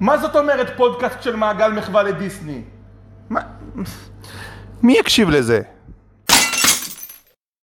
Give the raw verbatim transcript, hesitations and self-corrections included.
מה זאת אומרת פודקאסט של מעגל מחווה לדיסני? מה? מי יקשיב לזה?